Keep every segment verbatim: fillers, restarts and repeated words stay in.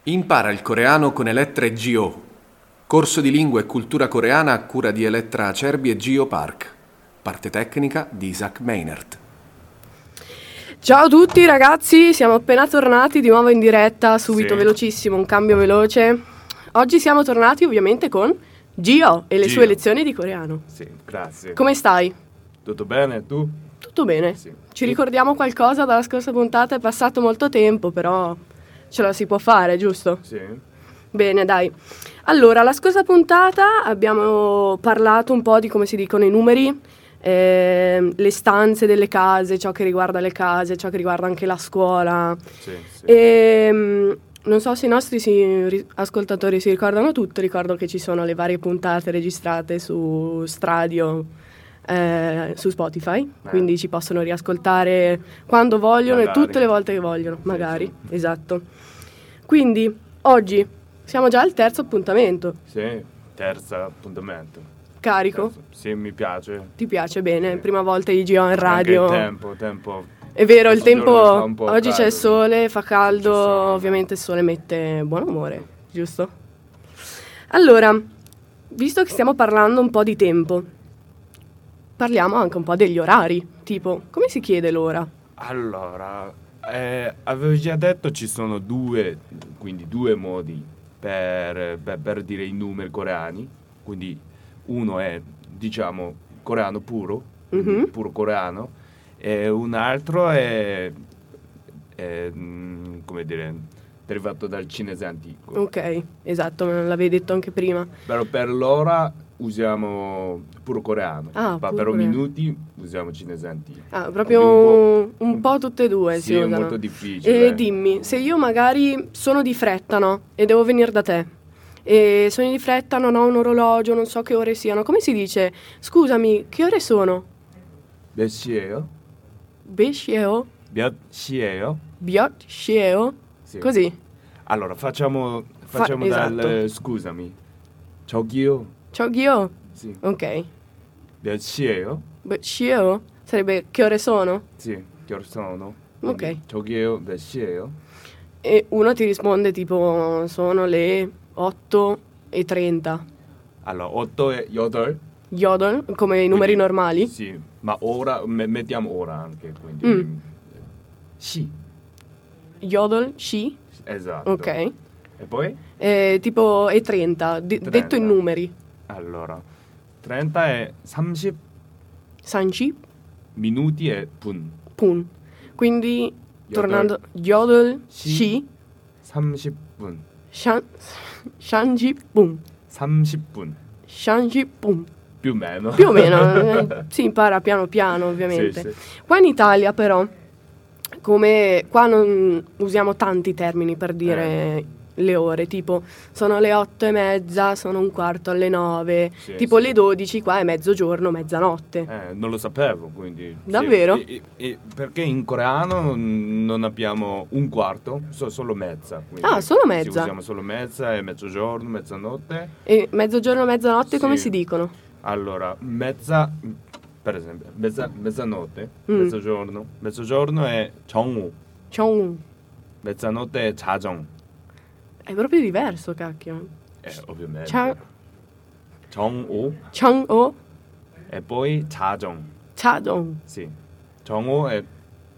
Impara il coreano con Elettra e Gio. Corso di lingua e cultura coreana a cura di Elettra Acerbi e Gio Park. Parte tecnica di Isaac Meinert. Ciao a tutti ragazzi, siamo appena tornati di nuovo in diretta, subito, Sì. velocissimo, un cambio veloce. Oggi siamo tornati ovviamente con Gio e le Gio. sue lezioni di coreano. Sì, grazie. Come stai? Tutto bene? Tu? Tutto bene. Sì. Ci ricordiamo qualcosa dalla scorsa puntata? È passato molto tempo, però ce la si può fare, giusto? Sì. Bene, dai. Allora, la scorsa puntata abbiamo parlato un po' di come si dicono i numeri, eh, le stanze delle case, ciò che riguarda le case, ciò che riguarda anche la scuola. Sì, sì. E mh, non so se i nostri si- ri- ascoltatori si ricordano tutto, ricordo che ci sono le varie puntate registrate su Stradio, eh, su Spotify, quindi ci possono riascoltare quando vogliono Magari. e tutte le volte che vogliono, Sì, magari, sì. esatto. Quindi, oggi siamo già al terzo appuntamento, Sì, terzo appuntamento. carico? Terzo. Sì, mi piace. Ti piace bene? Sì. Prima volta I G O in radio. Anche il tempo, tempo. È vero, il Questo giorno tempo, fa un po' oggi c'è il caldo. sole, fa caldo, C'è sole. ovviamente il sole mette buon umore, giusto? Allora, visto che stiamo parlando un po' di tempo, parliamo anche un po' degli orari, tipo, come si chiede l'ora? Allora, eh, avevo già detto ci sono due, quindi due modi per, per, per dire i numeri coreani. Quindi uno è, diciamo, coreano puro, quindi Mhm. puro coreano, e un altro è, è, mm, come dire, derivato dal cinese antico. Ok, esatto, me l'avevi detto anche prima. Però per l'ora usiamo puro coreano, Ah, ma puro per coreano. minuti usiamo cinese antico. Ah, proprio Quindi un, un po' tutte e due Sì, si è usano. molto difficile. E dimmi, se io magari sono di fretta, no? E devo venire da te. E sono di fretta, non ho un orologio, non so che ore siano. Come si dice? Scusami, che ore sono? 몇 시예요? Beshieo? 몇 시예요? Biot? Shieo? Sì. Così. Allora, facciamo, Fa- facciamo dal... esatto. eh, scusami. 저기요. Ciao Ghio? Sì. Ok. 몇 시예요? Beshieo? Sarebbe che ore sono? Sì, che ore sono? Ok. Quindi, 저기요, 몇 시예요? E uno ti risponde tipo, sono le otto e trenta. Allora, otto e 여덟. Yodel, come i numeri Quindi, normali. Sì, ma ora, me- mettiamo ora anche, quindi... Mm. Sì, Yodel, Shi. esatto. Ok. E poi? Eh, tipo e trenta, di- trenta. detto in numeri. Allora, trenta è 삼십 Sanji, minuti e 분. pun. Quindi, Yodel, tornando, Yodel, Shi. Shi, 삼십 분. Shan, Shanji, pum. 삼십 분. Shanji, pum. Più o meno. Più o meno, eh, si impara piano piano ovviamente. Sì, sì. Qua in Italia però, come qua non usiamo tanti termini per dire le ore, tipo sono le otto e mezza, sono un quarto alle nove, Sì, tipo sì. le dodici qua è mezzogiorno, mezzanotte. Eh, non lo sapevo, quindi... sì. Davvero? E- e- e perché in coreano non abbiamo un quarto, so- solo mezza. quindi Ah, solo sì, mezza. usiamo solo mezza e mezzogiorno, mezzanotte. E mezzogiorno, mezzanotte come Sì. si dicono? Allora, mezza, per esempio, mezza, mezzanotte, Mm. mezzogiorno. Mezzogiorno è 정오, Chong. mezzanotte è 자정. È proprio diverso, cacchio. Eh, ovviamente. Cha- 정오 Chong-o, e poi 자정. Chadong. Sì. 정오 è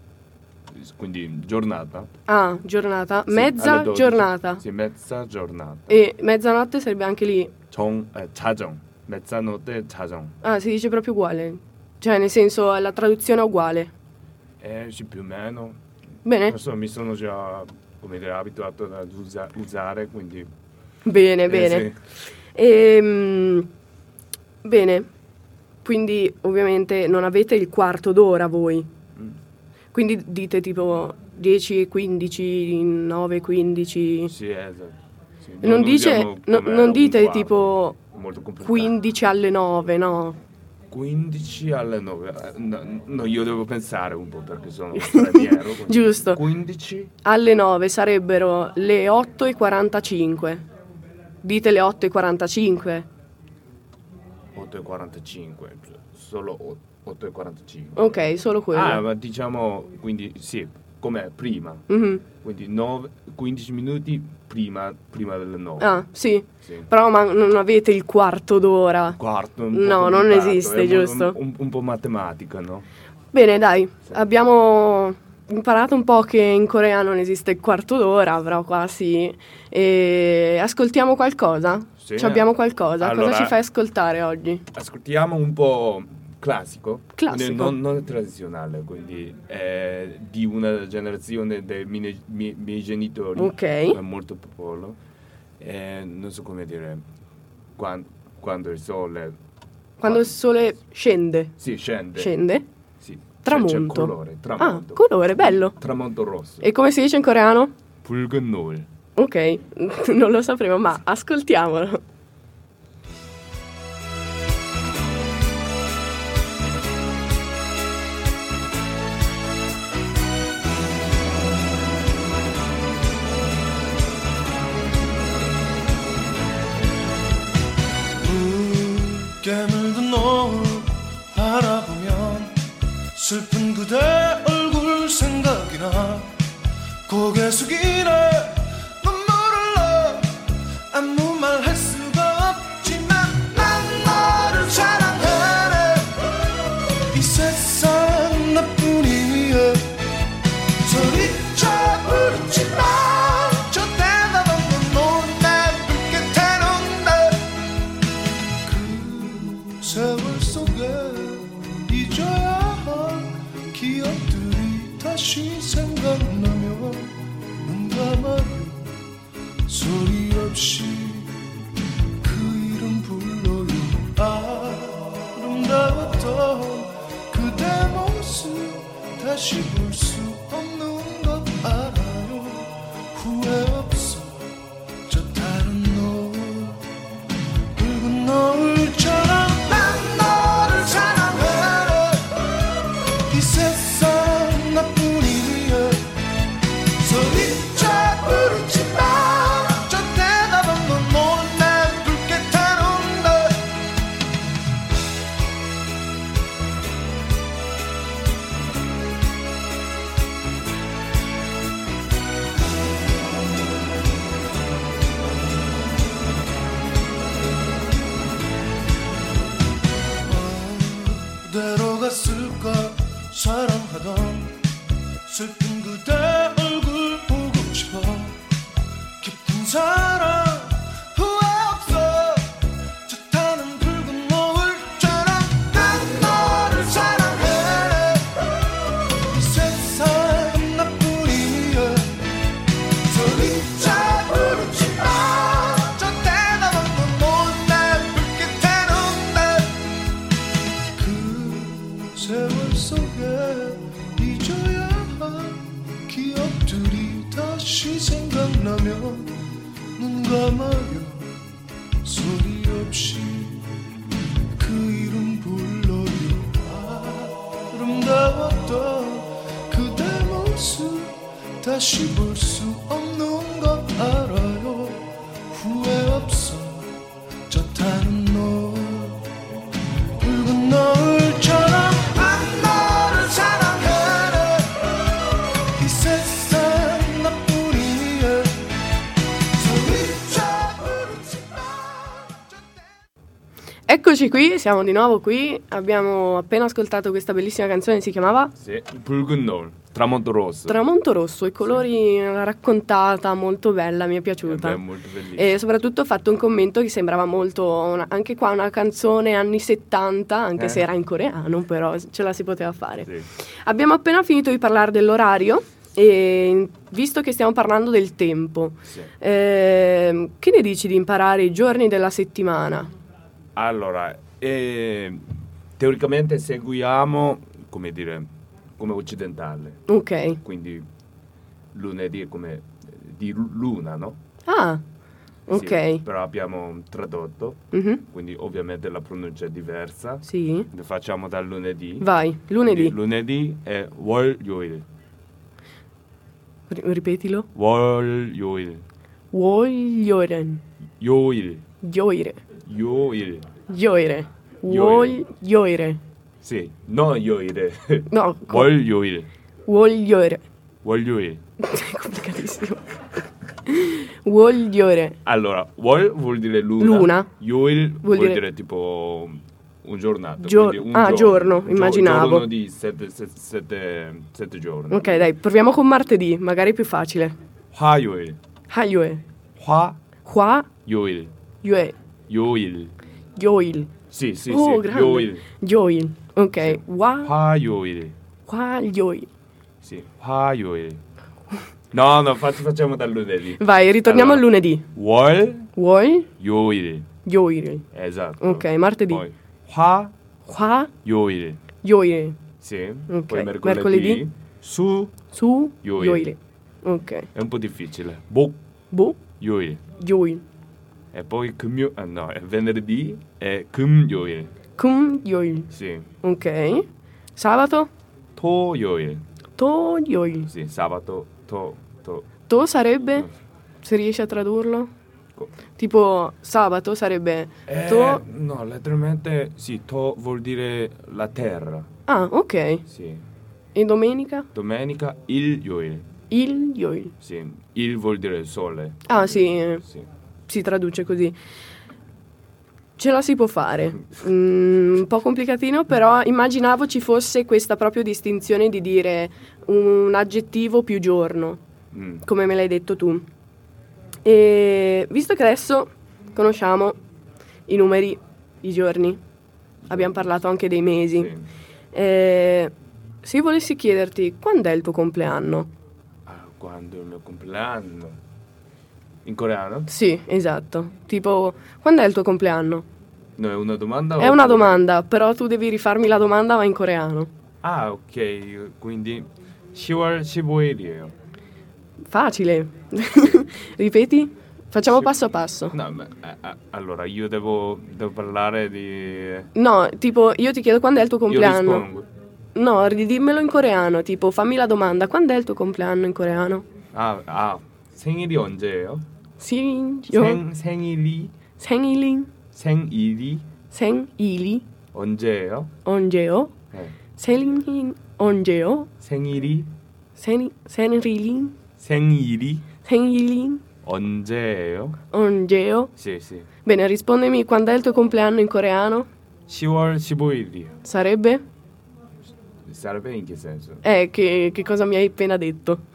quindi giornata. Ah, giornata. Sì, Mezza alle dodici. giornata. Sì, mezza giornata. E mezzanotte sarebbe anche lì. 정, eh, 자정. mezzanotte 자정. Ah, si dice proprio uguale. Cioè, nel senso, la traduzione è uguale. Eh, sì, più o meno. Bene? Adesso mi sono già, come dire, abituato ad usa- usare, quindi... Bene, eh, bene. sì. Ehm, bene. Quindi, ovviamente, non avete il quarto d'ora voi. Mm. Quindi dite tipo dieci e quindici, nove e quindici. Sì, esatto. Sì, Non, dice, usiamo no- come non un dite quarto. tipo Molto complicato. quindici alle nove, no? quindici alle nove. Eh, No, no, io devo pensare un po' perché sono straniero. quindi Giusto. quindici? Alle nove sarebbero le otto e quarantacinque. Dite le otto e quarantacinque. otto e quarantacinque. Solo otto e quarantacinque. Ok, solo quello. Ah, ma diciamo, quindi sì, come prima. Mhm. Quindi nove, quindici minuti prima, prima delle nove. Ah, sì. Sì. Però ma non avete il quarto d'ora. Quarto, un po' No, non complicato, esiste, è un- giusto? Un, un, un po' matematica, no? Bene, dai, abbiamo imparato un po' che in Corea non esiste il quarto d'ora, però qua sì. E ascoltiamo qualcosa? Sì. Ci abbiamo qualcosa? Allora- Cosa ci fai ascoltare oggi? Ascoltiamo un po' classico, Classico. quindi non, non tradizionale, quindi è di una generazione dei miei, miei, miei genitori, Ok. è molto popolo, e non so come dire, quando, quando il sole Quando il sole scende. sì, scende, Scende? sì, Tramonto. c'è, c'è colore, tramonto, Ah, colore, bello. tramonto rosso, E come si dice in coreano? 붉은 노을. Ok, non lo sapremo, ma ascoltiamolo. 깨물든 노을 바라보면 슬픈 그대 얼굴 생각이 나 고개 숙이네 눈물을 나 아무 말 할 수가 없지만 난 너를 사랑하네 이 세상 나뿐이야 소리쳐 부르지마 저 대답 없는 노을 내 불빛에 놓네 그 세월 속에 잊어야 할 기억들이 다시 생각나며 눈 감아요 소리 없이 그 이름 불러요 아름다웠던 그대 모습 다시 볼 수 없는 것 알아요 후회 없어 저 다른 노을 붉은 노을처럼 난 너를 사랑해 이 세상 나뿐이야 소리쳐 부르지마 저 대답 없는 노을 내 불빛에 놓네 어디로 갔을까 사랑하던 슬픈 그대 얼굴 보고 싶어 깊은 사랑 후회 없어 저 타는 붉은 노을처럼 난 너를 사랑해 이 세상 나뿐이야 소리쳐 부르지마 저 대답 없는 노을 내 불빛에 놓네 그 세월 속에 잊어야 할 기억들이 다시 생각나면 눈 감아요 소리 없이 그 이름 불러요 아름다웠던 그대 모습 다시 볼 수 없는 것 알아요 후회 없어 저 타는 노을 붉은 노을처럼 난 너를 사랑해 이 세상 나뿐이야 소리쳐 부르지마 Eccoci qui, siamo di nuovo qui. Abbiamo appena ascoltato questa bellissima canzone, si chiamava Sì, 붉은 노을, tramonto rosso. Tramonto Rosso, i colori, una raccontata molto bella, mi è piaciuta. È molto bellissimo. E soprattutto ho fatto un commento che sembrava molto, una- anche qua una canzone anni settanta, anche Eh. se era in coreano, però ce la si poteva fare. Sì. Abbiamo appena finito di parlare dell'orario e visto che stiamo parlando del tempo, Sì. ehm, che ne dici di imparare i giorni della settimana? Allora, eh, teoricamente seguiamo, come dire, come occidentale, Ok. quindi lunedì è come eh, di lu- luna, no? Ah, ok. Sì, però abbiamo tradotto, Mhm. quindi ovviamente la pronuncia è diversa. Sì. Lo facciamo dal lunedì. Vai, lunedì. Quindi lunedì è 월요일. Ri- ripetilo. 월요일. 월요일은 요일. 요일에. 요일. 요일에. 요일. 월요일에. Sì, no 요일에. No, co- 월요일. 월요일에. 월요일. È complicatissimo. Vogliore. Allora, 월 vuol dire luna. Luna. Yoil Vuol vuol dire- dire tipo un giornato. Gio- quindi un ah, giorno, Gio- immaginavo. giorno di sette, sette, sette, sette giorni. Ok, dai, proviamo con martedì, magari è più facile. 화요일. Hayoe. 화요일. Qua. Yue. 요일. Yoil. Sì, sì, Oh, sì. grande. 요일. Yoil. Ok. Wa. 화요일. Qua. Yoil. Sì, 화요일. No, no, fac- facciamo dal lunedì. Vai, ritorniamo Allora, al lunedì. 월, Wol. 요일. Yoil. Esatto. Ok, martedì. Poi 화, Qua. 요일. Yoil. Sì. Ok, Poi mercoledì. mercoledì. 수, Su. Yoil. Yoil. Ok. è un po' difficile. 목, Bu. 요일. Yoil. E poi 금요, ah, no, è venerdì è 금요일. Kum. Yoil. Sì. Ok. Sabato. 토요일. To. Yoil. Sì, sabato, to, to. To sarebbe, se riesci a tradurlo, Co- tipo sabato sarebbe Eh, to. no, letteralmente sì, to vuol dire la terra. Ah, ok. Sì. E domenica? Domenica, ilyoil. Il Yoil. Sì, il vuol dire sole. Ah, sì, eh, Sì. si traduce così. Ce la si può fare. Mm, un po' complicatino, però immaginavo ci fosse questa proprio distinzione di dire un aggettivo più giorno, Mm. come me l'hai detto tu. E visto che adesso conosciamo i numeri, i giorni, abbiamo parlato anche dei mesi, Sì. eh, se io volessi chiederti quando è il tuo compleanno? Ah, quando è il mio compleanno? In coreano? Sì, esatto. Tipo, quando è il tuo compleanno? No, è una domanda? È o- una domanda, però tu devi rifarmi la domanda ma in coreano. Ah, ok, quindi 시월 십오일이에요. Facile. Ripeti? Facciamo Sì. passo a passo. No, ma, eh, eh, allora io devo, devo parlare di... No, tipo, io ti chiedo quando è il tuo Io compleanno. rispondo. No, ridimmelo in coreano, tipo, fammi la domanda, quando è il tuo compleanno in coreano? 아, 아, 생일이 언제예요? Sin, 생, 생일이, 생일이, 생일이 생일이, 언제예요? 언제요? 네. 생일, 언제요? 생일이, 생, 생일이, 생일이 생일이, 언제예요? 언제요? Sì, sì. Bene, rispondimi quando è il tuo compleanno in coreano? 시월 십오일이요. Sarebbe? Sarebbe in che senso? Eh, che, che cosa mi hai appena detto?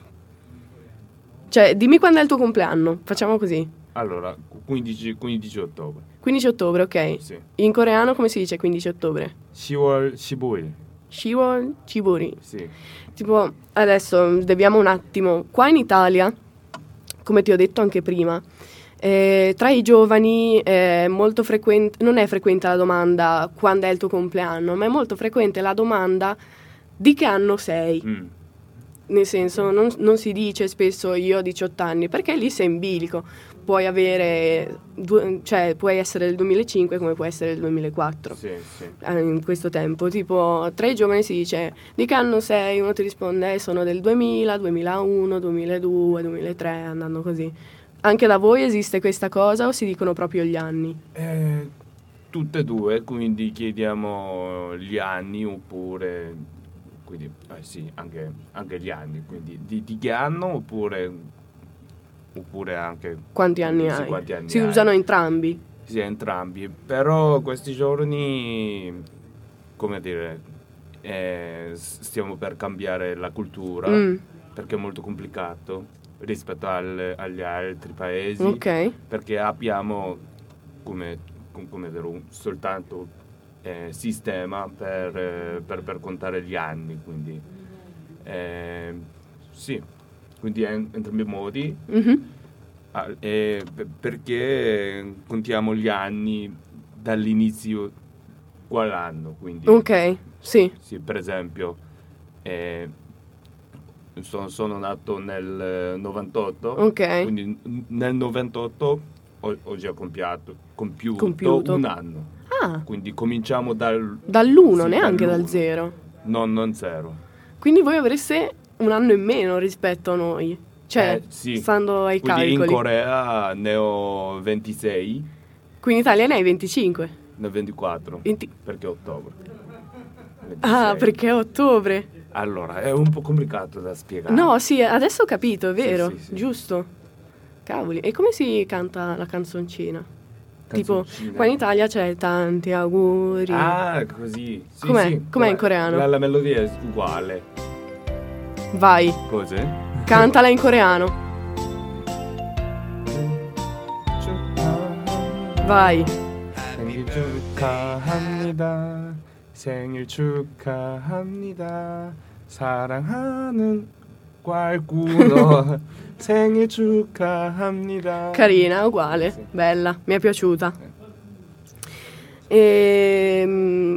Cioè, dimmi quando è il tuo compleanno, facciamo così. Allora, quindici, quindici ottobre. quindici ottobre, ok. Sì. In coreano come si dice quindici ottobre? 시월 십오일. Shiwol Chiburi. Sì. Tipo, adesso deviamo un attimo. Qua in Italia, come ti ho detto anche prima, eh, tra i giovani è molto frequente, non è frequente la domanda quando è il tuo compleanno, ma è molto frequente la domanda di che anno sei. Mm. Nel senso, non, non si dice spesso io ho diciotto anni, perché lì sei in bilico. Puoi avere, due, cioè puoi essere del duemilacinque come puoi essere del duemilaquattro. Sì, sì. eh, In questo tempo, tipo, tra i giovani si dice di che anno sei? Uno ti risponde, eh, sono del duemila, duemilauno, duemiladue, duemilatré, andando così. Anche da voi esiste questa cosa o si dicono proprio gli anni? Eh, tutte e due, quindi chiediamo gli anni oppure... Quindi, eh sì, anche, anche gli anni, quindi di, di che anno oppure, oppure anche... Quanti anni sì, hai? quanti anni si hai. usano entrambi. Sì, entrambi, però questi giorni, come dire, eh, s- stiamo per cambiare la cultura, Mm, perché è molto complicato rispetto al- agli altri paesi, ok. perché abbiamo, come, com- come dire, un- soltanto eh, sistema per, eh, per, per contare gli anni, quindi eh, sì, quindi en- entrambi i modi. Mhm. Ah, eh, p- perché contiamo gli anni dall'inizio quell'anno, quindi Ok, sì. sì, per esempio eh, sono, sono nato nel novantotto, Ok. quindi n- nel novantotto ho, ho già compiato, compiuto, Compiuto. un anno, Ah, quindi cominciamo dal... dall'uno, sì, neanche dal dall'uno. zero. No, non zero. Quindi voi avreste un anno in meno rispetto a noi. Cioè, Eh, sì. stando ai Quindi calcoli. in Corea ne ho ventisei, Qui in Italia ne hai venticinque. ne ho ventiquattro, venti perché è ottobre. Ah, ventisei. perché è ottobre. Allora, è un po' complicato da spiegare. No, sì, adesso ho capito, è vero, Sì, sì, sì. giusto. Cavoli, e come si canta la canzoncina? Tipo, Canzoncina. qua in Italia c'è tanti auguri. Ah, così. Sì, Com'è? sì. Com'è in coreano? La, la melodia è uguale. Vai, Cos'è? cantala in coreano. Vai. 생일 축하합니다. 생일 축하합니다. 사랑하는 꽐꾸러 생일 축하합니다. Carina, uguale, Sì. bella, mi è piaciuta. Ehm,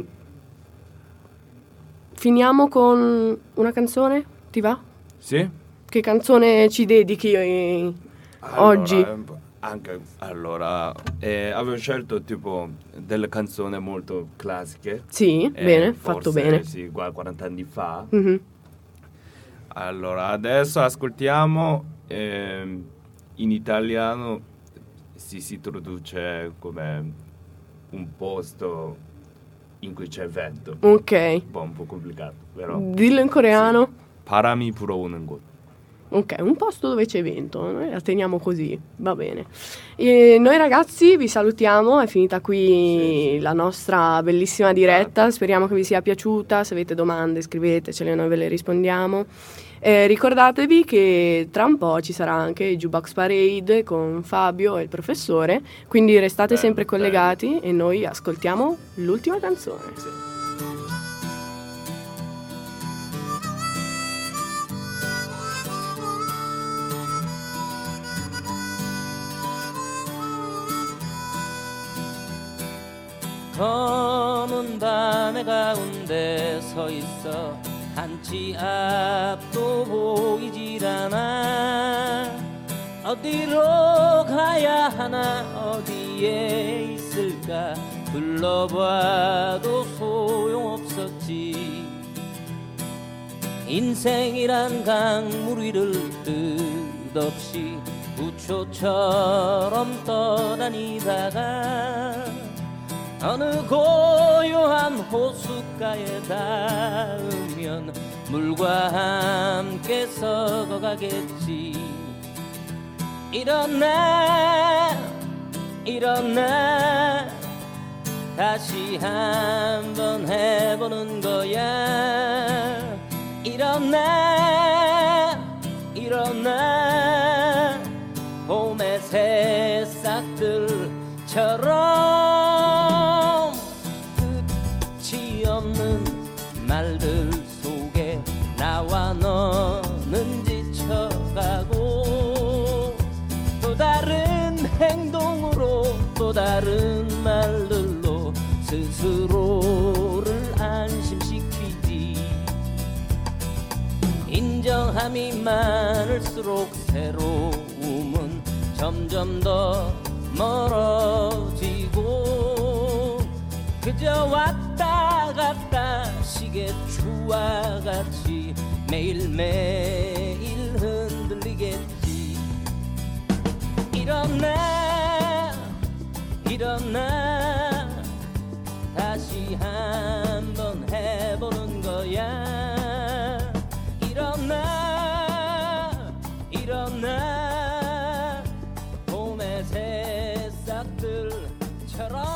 finiamo con una canzone, ti va? Sì? Che canzone ci dedichi eh, oggi? Allora, anche allora eh, avevo scelto tipo delle canzoni molto classiche. Sì, eh, bene, forse, fatto bene. Sì, qua- quaranta anni fa. Mhm. Allora, adesso ascoltiamo ehm, in italiano si, si traduce come un posto in cui c'è vento. Ok, Un po', un po' complicato, però. dillo in coreano. 바람이 불어오는 곳. Ok, un posto dove c'è vento, noi la teniamo così, va bene. E noi ragazzi vi salutiamo, è finita qui Sì, sì. la nostra bellissima diretta, speriamo che vi sia piaciuta, se avete domande scrivetecele, noi ve le rispondiamo. Eh, ricordatevi che tra un po' ci sarà anche il Jukebox Parade con Fabio e il professore, quindi restate Bello, sempre bello. collegati e noi ascoltiamo l'ultima canzone. Sì. 검은 밤의 가운데 서 있어 한치 앞도 보이질 않아 어디로 가야 하나 어디에 있을까 불러봐도 소용없었지 인생이란 강물 위를 끝없이 부초처럼 떠다니다가 어느 고요한 호숫가에 닿으면 물과 함께 썩어가겠지 일어나 일어나 다시 한번 해보는 거야 일어나 일어나 봄의 새싹들처럼 끝이 없는 말들 속에 나와 너는 지쳐가고 또 다른 행동으로 또 다른 말들로 스스로를 안심시키지 인정함이 많을수록 새로움은 점점 더 멀어지고 그저 왔다 갔다 시계추와 같이 매일매일 흔들리겠지 일어나 일어나 다시 한번 해보는 거야 일어나 일어나 봄의 새싹들처럼